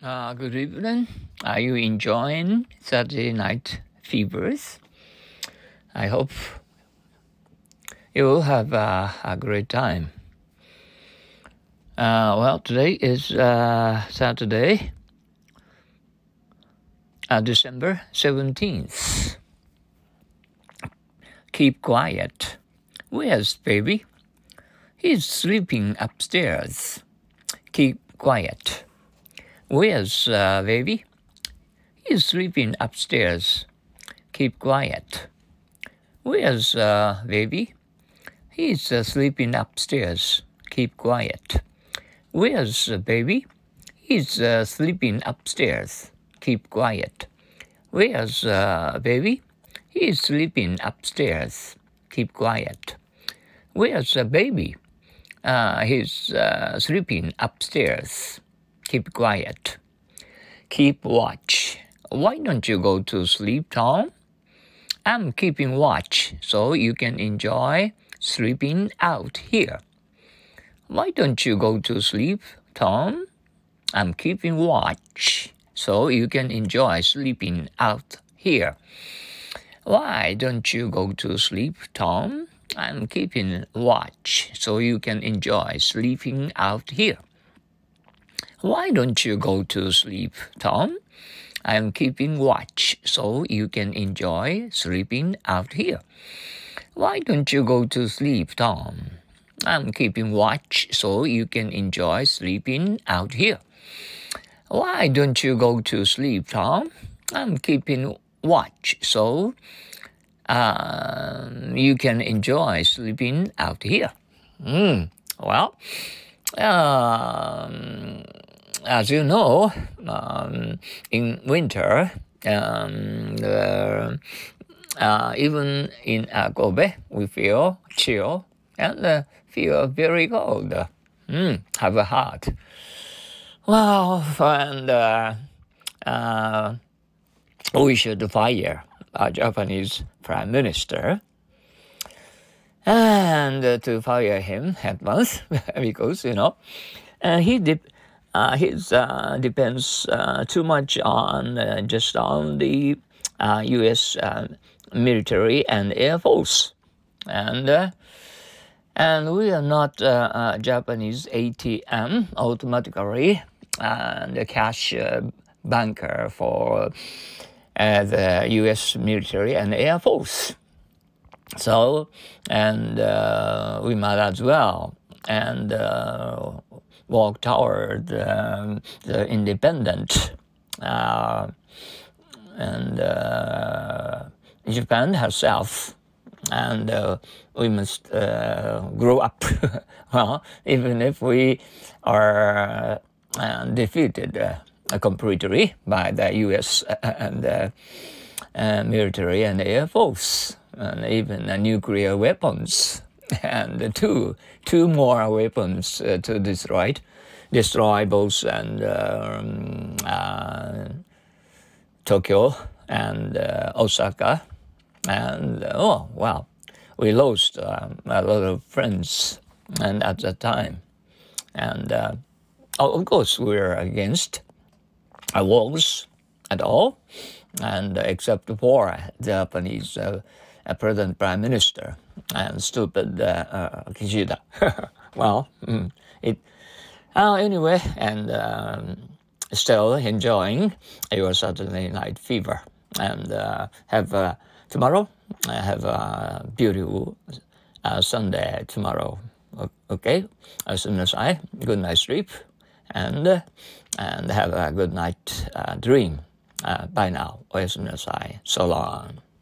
Good evening. Are you enjoying Saturday Night Fevers? I hope you will have a great time. Today is Saturday, December 17th. Keep quiet. Where's baby? He's sleeping upstairs. Keep quiet. Where's baby? He's sleeping upstairs. Keep quiet. Where's baby? He's sleeping upstairs. Keep quiet. Where's baby? He's sleeping upstairs. Keep quiet. Where's baby? He's sleeping upstairs. Keep quiet. Where's baby? He's sleeping upstairs. Keep quiet. Keep watch. Why don't you go to sleep, Tom? I'm keeping watch so you can enjoy sleeping out here. Why don't you go to sleep, Tom? I'm keeping watch so you can enjoy sleeping out here. Why don't you go to sleep, Tom? I'm keeping watch so you can enjoy sleeping out here. Why don't you go to sleep, Tom? I'm keeping watch so you can enjoy sleeping out here. Why don't you go to sleep, Tom? I'm keeping watch so you can enjoy sleeping out here. Why don't you go to sleep, Tom? I'm keeping watch so you can enjoy sleeping out here. As you know, in winter, even in Kobe, we feel chill and feel very cold. Have a heart. We should fire our Japanese Prime Minister. And to fire him at once because, he depends too much on just on the U.S. military and Air Force, and we are not Japanese ATM automatically the cash banker for the U.S. military and Air Force. So, and we might as well and walk toward the independent and Japan herself, and we must grow up. Well, even if we are defeated completely by the U.S. and military and Air Force, and even nuclear weapons, and two more weapons to destroy both and Tokyo and Osaka, and we lost a lot of friends, and at that time, and of course we're against wars at all, and except for Japanese present Prime Minister and stupid Kishida. Anyway, and still enjoying your Saturday Night Fever, and have tomorrow. Have a beautiful Sunday tomorrow. Okay, as soon as good night sleep, and have a good night dream. Bye now. おやすみなさい. So long.